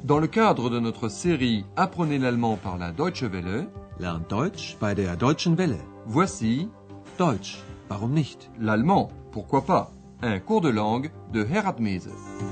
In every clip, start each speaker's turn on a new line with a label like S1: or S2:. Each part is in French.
S1: Dans le cadre de notre série Apprenez l'allemand par la Deutsche Welle,
S2: Lernt Deutsch bei der Deutschen Welle.
S1: voici
S2: Deutsch, warum nicht?
S1: l'allemand, pourquoi pas, un cours de langue de Herat Mese.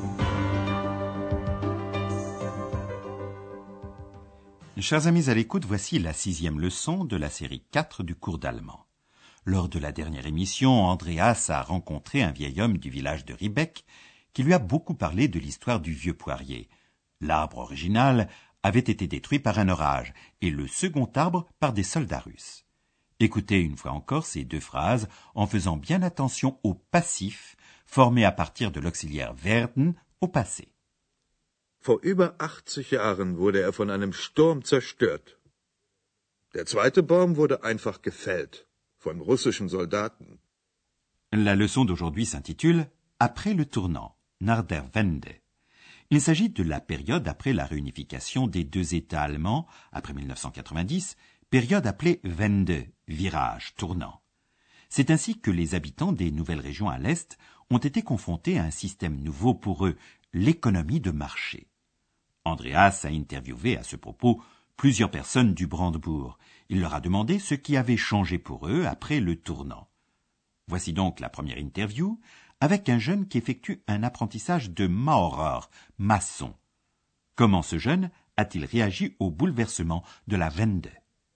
S3: Chers amis à l'écoute, voici la 6e leçon de la série 4 du cours d'allemand. Lors de la dernière émission, Andreas a rencontré un vieil homme du village de Riebeck qui lui a beaucoup parlé de l'histoire du vieux poirier. L'arbre original avait été détruit par un orage et le second arbre par des soldats russes. Écoutez une fois encore ces deux phrases en faisant bien attention au passif formé à partir de l'auxiliaire werden au passé.
S4: Vor über 80 Jahren wurde er von einem Sturm zerstört. Der zweite Baum wurde einfach gefällt, von russischen Soldaten.
S3: La leçon d'aujourd'hui s'intitule « Après le tournant » nach der Wende. Il s'agit de la période après la réunification des deux États allemands, après 1990, période appelée Wende, virage, tournant. C'est ainsi que les habitants des nouvelles régions à l'Est ont été confrontés à un système nouveau pour eux, l'économie de marché. Andreas a interviewé à ce propos plusieurs personnes du Brandebourg. Il leur a demandé ce qui avait changé pour eux après le tournant. Voici donc la première interview avec un jeune qui effectue un apprentissage de Maurer, maçon. Comment ce jeune a-t-il réagi au bouleversement de la Wende?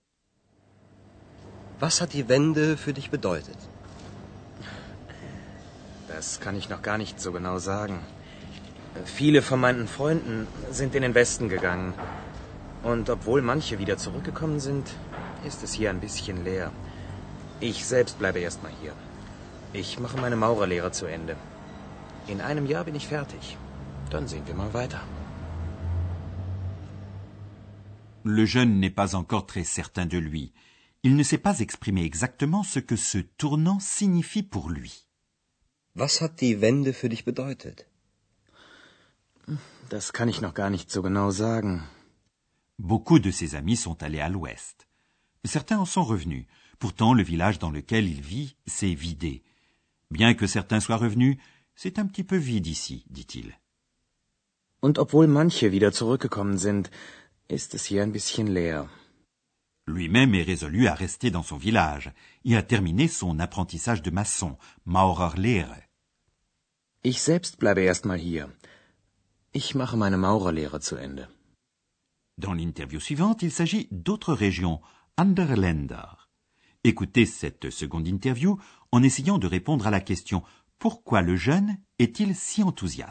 S5: Was hat die Wende für dich bedeutet?
S6: Das kann ich noch gar nicht so genau sagen. Viele von meinen Freunden sind in den Westen gegangen. Und obwohl manche wieder zurückgekommen sind, ist es hier ein bisschen leer. Ich selbst bleibe erstmal hier. Ich mache meine Maurerlehre zu Ende. In einem Jahr bin ich fertig. Dann sehen wir mal weiter.
S3: Le jeune n'est pas encore très certain de lui. Il ne sait pas exprimer exactement ce que ce tournant signifie pour lui.
S5: Was hat die Wende für dich bedeutet?
S6: Das kann ich noch gar nicht so genau sagen.
S3: Beaucoup de ses amis sont allés à l'ouest. Certains en sont revenus. Pourtant, le village dans lequel il vit s'est vidé. Bien que certains soient revenus, c'est un petit peu vide ici, dit-il.
S6: Und obwohl manche wieder zurückgekommen sind, ist es hier ein bisschen leer.
S3: Lui-même est résolu à rester dans son village et à terminer son apprentissage de maçon, Maurerlehre.
S6: Ich selbst bleibe erstmal hier. Ich mache meine Maurerlehre zu Ende.
S3: Dans l'interview suivante, il s'agit d'autres régions, andere Länder. Écoutez cette seconde interview en essayant de répondre à la question « Pourquoi le jeune est-il si enthousiaste ?»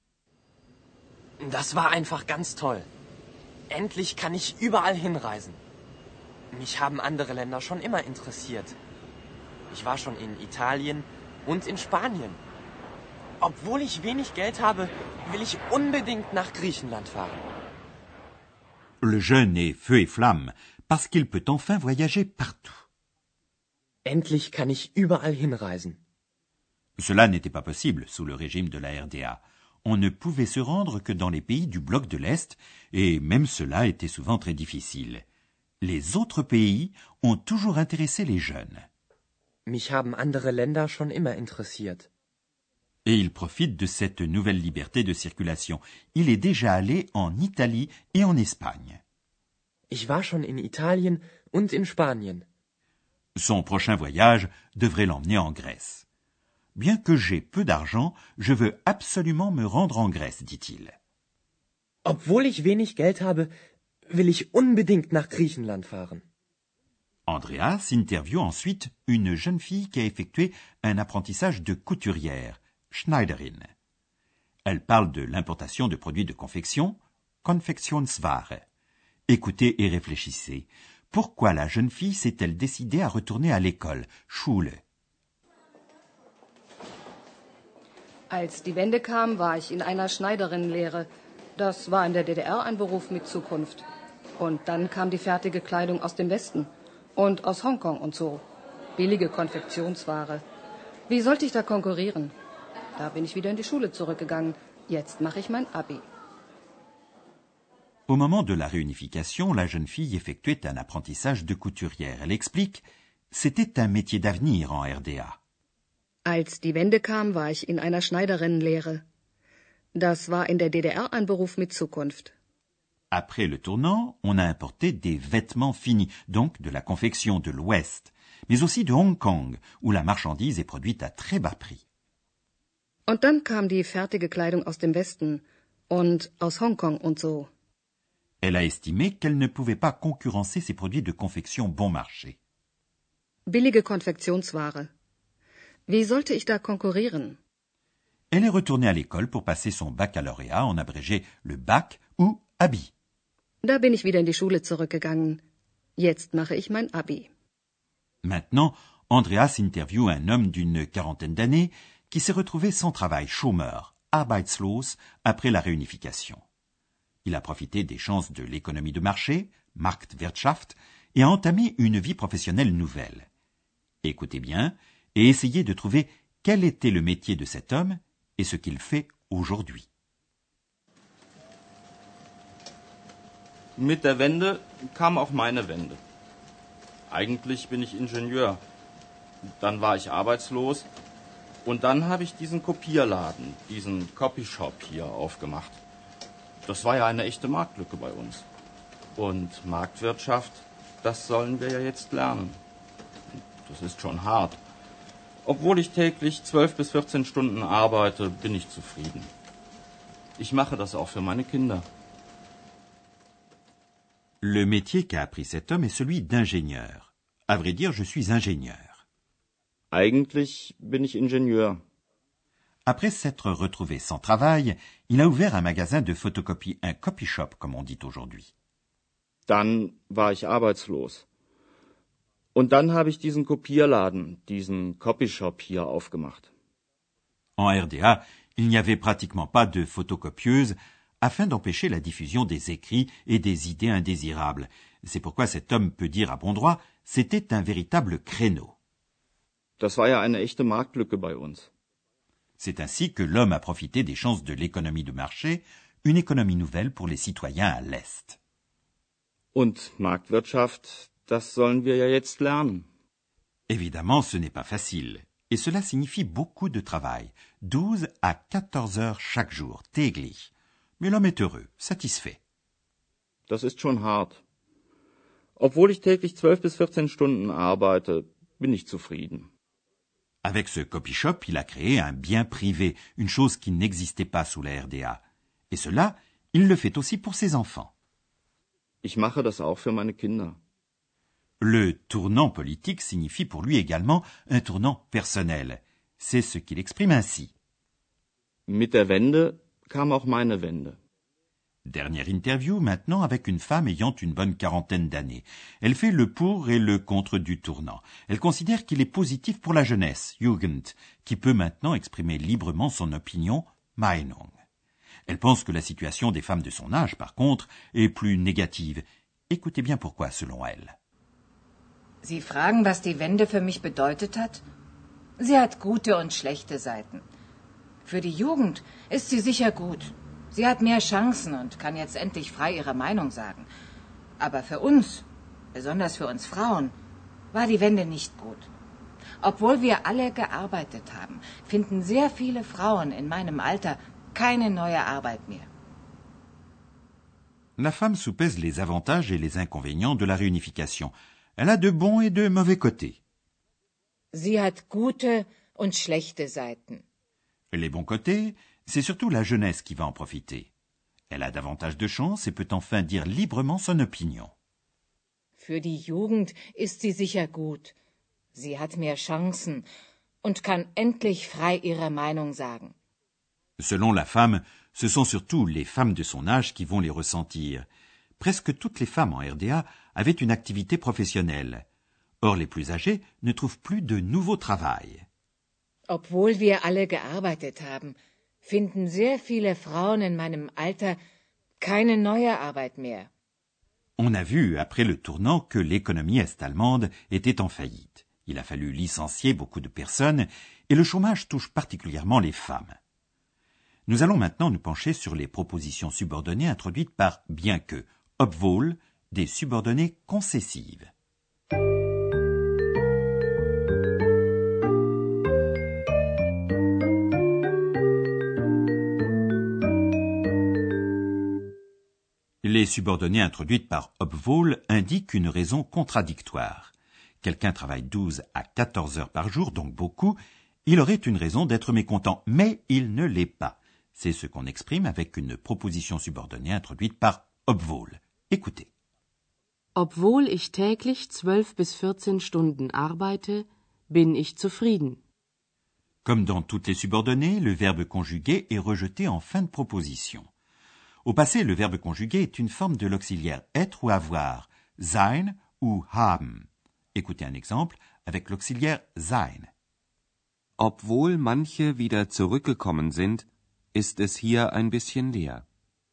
S7: Das war einfach ganz toll. Endlich kann ich überall hinreisen. Mich haben andere Länder schon immer interessiert. Ich war schon in Italien und in Spanien. Obwohl ich wenig Geld habe, will ich unbedingt nach Griechenland fahren.
S3: Le jeune est feu et flamme parce qu'il peut enfin voyager partout.
S7: Endlich kann ich überall hinreisen.
S3: Cela n'était pas possible sous le régime de la RDA. On ne pouvait se rendre que dans les pays du bloc de l'Est, et même cela était souvent très difficile. Les autres pays ont toujours intéressé les jeunes.
S7: Mich haben andere Länder schon immer interessiert.
S3: Et il profite de cette nouvelle liberté de circulation. Il est déjà allé en Italie et en Espagne.
S7: Ich war schon in Italien und in Spanien.
S3: Son prochain voyage devrait l'emmener en Grèce. Bien que j'ai peu d'argent, je veux absolument me rendre en Grèce, dit-il.
S7: Obwohl ich wenig Geld habe, will ich unbedingt nach Griechenland fahren.
S3: Andreas interviewe ensuite une jeune fille qui a effectué un apprentissage de couturière, Schneiderin. Elle parle de l'importation de produits de confection, Konfektionsware. Écoutez et réfléchissez. Pourquoi la jeune fille s'est-elle décidée à retourner à l'école, Schule?
S8: Als die Wende kam, war ich in einer Schneiderinnenlehre. Das war in der DDR ein Beruf mit Zukunft. Und dann kam die fertige Kleidung aus dem Westen und aus Hongkong und so. Billige Konfektionsware. Wie sollte ich da konkurrieren? Da bin ich wieder in die Schule zurückgegangen. Jetzt mache ich mein Abi.
S3: Au moment de la réunification, la jeune fille effectuait un apprentissage de couturière. Elle explique, c'était un métier d'avenir en RDA.
S8: Als die Wende kam, war ich in einer Schneiderinnenlehre. Das war in der DDR ein Beruf mit Zukunft.
S3: Après le tournant, on a importé des vêtements finis, donc de la confection de l'Ouest, mais aussi de Hong Kong, où la marchandise est produite à très bas prix.
S8: Und dann kam die fertige Kleidung aus dem Westen und aus Hongkong und so.
S3: Elle a estimé qu'elle ne pouvait pas concurrencer ces produits de confection bon marché.
S8: Billige Konfektionsware. Wie sollte ich da konkurrieren?
S3: Elle est retournée à l'école pour passer son baccalauréat, en abrégé le bac ou Abi.
S8: Da bin ich wieder in die Schule zurückgegangen. Jetzt mache ich mein Abi.
S3: Maintenant, Andreas interviewe un homme d'une quarantaine d'années qui s'est retrouvé sans travail, chômeur, arbeitslos, après la réunification. Il a profité des chances de l'économie de marché, Marktwirtschaft, et a entamé une vie professionnelle nouvelle. Écoutez bien et essayez de trouver quel était le métier de cet homme et ce qu'il fait aujourd'hui.
S9: Mit der Wende kam auch meine Wende. Eigentlich bin ich Ingenieur. Dann war ich arbeitslos. Und dann habe ich diesen Kopierladen, diesen Copyshop hier aufgemacht. Das war ja eine echte Marktlücke bei uns. Und Marktwirtschaft, das sollen wir ja jetzt lernen. Das ist schon hart. Obwohl ich täglich 12 bis 14 Stunden arbeite, bin ich zufrieden. Ich mache das auch für meine Kinder.
S3: Le métier qu'a appris cet homme est celui d'ingénieur. À vrai dire, je suis ingénieur.
S9: Eigentlich bin ich Ingenieur.
S3: Après s'être retrouvé sans travail, il a ouvert un magasin de photocopie, un copy shop comme on dit aujourd'hui.
S9: Dann war ich arbeitslos. Und dann habe ich diesen Kopierladen, diesen Copyshop hier aufgemacht.
S3: En RDA, il n'y avait pratiquement pas de photocopieuse afin d'empêcher la diffusion des écrits et des idées indésirables. C'est pourquoi cet homme peut dire à bon droit, c'était un véritable créneau.
S9: Das war ja eine echte Marktlücke bei uns.
S3: C'est ainsi que l'homme a profité des chances de l'économie de marché, une économie nouvelle pour les citoyens à l'Est.
S9: Und Marktwirtschaft, das sollen wir ja jetzt lernen.
S3: Évidemment, ce n'est pas facile. Et cela signifie beaucoup de travail. 12 à 14 heures chaque jour, täglich. Mais l'homme est heureux, satisfait.
S9: Das ist schon hart. Obwohl ich täglich 12 bis 14 Stunden arbeite, bin ich zufrieden.
S3: Avec ce copy shop, il a créé un bien privé, une chose qui n'existait pas sous la RDA. Et cela, il le fait aussi pour ses enfants.
S9: Ich mache das auch für meine Kinder.
S3: Le tournant politique signifie pour lui également un tournant personnel. C'est ce qu'il exprime ainsi.
S9: Mit der Wende kam auch meine Wende.
S3: Dernière interview maintenant avec une femme ayant une bonne quarantaine d'années. Elle fait le pour et le contre du tournant. Elle considère qu'il est positif pour la jeunesse, Jugend, qui peut maintenant exprimer librement son opinion, Meinung. Elle pense que la situation des femmes de son âge, par contre, est plus négative. Écoutez bien pourquoi, selon elle.
S10: Sie fragen, was die Wende für mich bedeutet hat? Sie hat gute und schlechte Seiten. Für die Jugend ist sie sicher gut. Sie hat mehr Chancen und kann jetzt endlich frei ihre Meinung sagen. Aber für uns, besonders für uns Frauen, war die Wende nicht gut. Obwohl wir alle gearbeitet haben, finden sehr viele Frauen in meinem Alter keine neue Arbeit mehr.
S3: La femme soupèse les avantages et les inconvénients de la réunification. Elle a de bons et de mauvais côtés.
S10: Sie hat gute und schlechte Seiten.
S3: Les bons côtés, c'est surtout la jeunesse qui va en profiter. Elle a davantage de chance et peut enfin dire librement son opinion.
S10: Für die Jugend ist sie sicher gut. Sie hat mehr Chancen und kann endlich frei ihre Meinung sagen.
S3: Selon la femme, ce sont surtout les femmes de son âge qui vont les ressentir. Presque toutes les femmes en RDA avaient une activité professionnelle. Or, les plus âgées ne trouvent plus de nouveau travail.
S10: Obwohl wir alle gearbeitet haben, finden sehr viele Frauen in meinem Alter keine neue Arbeit mehr.
S3: On a vu, après le tournant, que l'économie est-allemande était en faillite. Il a fallu licencier beaucoup de personnes et le chômage touche particulièrement les femmes. Nous allons maintenant nous pencher sur les propositions subordonnées introduites par bien que, obwohl, des subordonnées concessives. Les subordonnées introduites par Obwohl indiquent une raison contradictoire. Quelqu'un travaille 12 à 14 heures par jour, donc beaucoup. Il aurait une raison d'être mécontent, mais il ne l'est pas. C'est ce qu'on exprime avec une proposition subordonnée introduite par Obwohl. Écoutez.
S11: Obwohl ich täglich 12 bis 14 Stunden arbeite, bin ich zufrieden.
S3: Comme dans toutes les subordonnées, le verbe conjugué est rejeté en fin de proposition. Au passé, le verbe conjugué est une forme de l'auxiliaire être ou avoir, sein ou haben. Écoutez un exemple avec l'auxiliaire sein.
S12: Obwohl manche wieder zurückgekommen sind, ist es hier ein bisschen leer.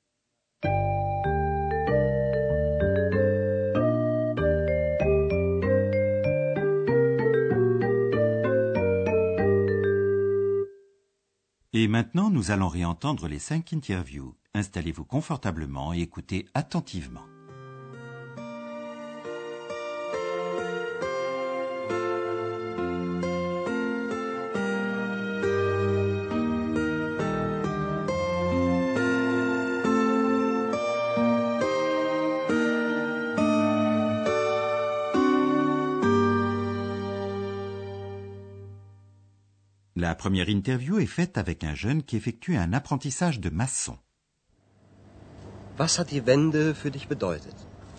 S3: Et maintenant, nous allons réentendre les 5 interviews. Installez-vous confortablement et écoutez attentivement. La première interview est faite avec un jeune qui effectue un apprentissage de maçon.
S5: Was hat die Wende für dich bedeutet?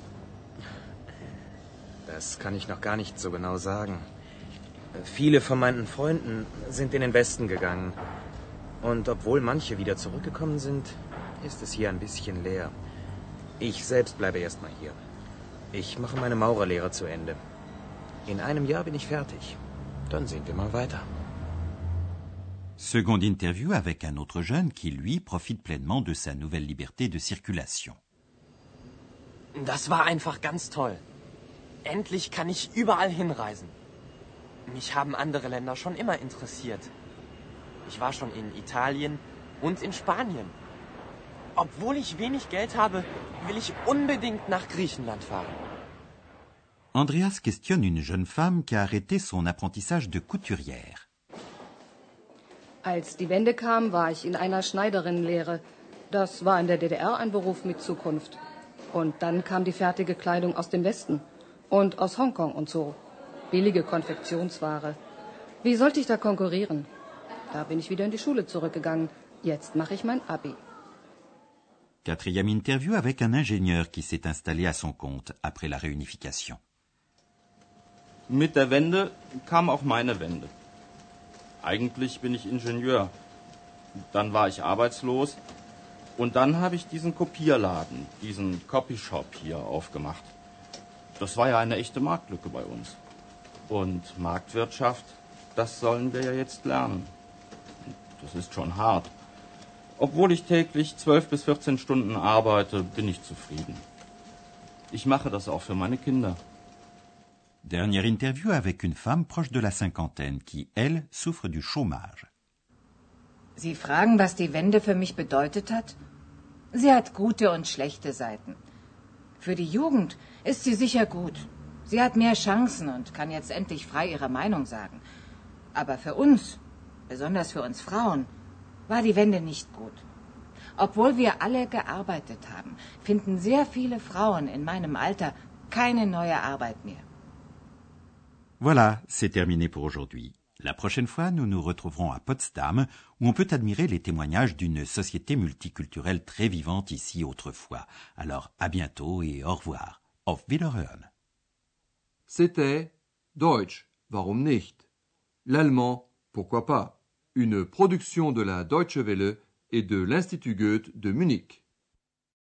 S6: Das kann ich noch gar nicht so genau sagen. Viele von meinen Freunden sind in den Westen gegangen. Und obwohl manche wieder zurückgekommen sind, ist es hier ein bisschen leer. Ich selbst bleibe erstmal hier. Ich mache meine Maurerlehre zu Ende. In einem Jahr bin ich fertig. Dann sehen wir mal weiter.
S3: Seconde interview avec un autre jeune qui, lui, profite pleinement de sa nouvelle liberté de circulation.
S7: Das war einfach ganz toll. Endlich kann ich überall hinreisen. Mich haben andere Länder schon immer interessiert. Ich war schon in Italien und in Spanien. Obwohl ich wenig Geld habe, will ich unbedingt nach Griechenland fahren.
S3: Andreas questionne une jeune femme qui a arrêté son apprentissage de couturière.
S8: Als die Wende kam, war ich in einer Schneiderinnenlehre. Das war in der DDR ein Beruf mit Zukunft. Und dann kam die fertige Kleidung aus dem Westen. Und aus Hongkong und so. Billige Konfektionsware. Wie sollte ich da konkurrieren? Da bin ich wieder in die Schule zurückgegangen. Jetzt mache ich mein Abi.
S3: Quatrième interview avec un ingénieur qui s'est installé à son compte après la réunification.
S9: Mit der Wende kam auch meine Wende. Eigentlich bin ich Ingenieur. Dann war ich arbeitslos. Und dann habe ich diesen Kopierladen, diesen Copyshop hier aufgemacht. Das war ja eine echte Marktlücke bei uns. Und Marktwirtschaft, das sollen wir ja jetzt lernen. Das ist schon hart. Obwohl ich täglich 12 bis 14 Stunden arbeite, bin ich zufrieden. Ich mache das auch für meine Kinder.
S3: Dernière interview avec une femme proche de la cinquantaine qui, elle, souffre du chômage.
S10: Sie fragen, was die Wende für mich bedeutet hat? Sie hat gute und schlechte Seiten. Für die Jugend ist sie sicher gut. Sie hat mehr Chancen und kann jetzt endlich frei ihre Meinung sagen. Aber für uns, besonders für uns Frauen, war die Wende nicht gut. Obwohl wir alle gearbeitet haben, finden sehr viele Frauen in meinem Alter keine neue Arbeit mehr.
S3: Voilà, c'est terminé pour aujourd'hui. La prochaine fois, nous nous retrouverons à Potsdam, où on peut admirer les témoignages d'une société multiculturelle très vivante ici autrefois. Alors, à bientôt et au revoir. Auf Wiederhören.
S1: C'était Deutsch, warum nicht? L'allemand, pourquoi pas? Une production de la Deutsche Welle et de l'Institut Goethe de Munich.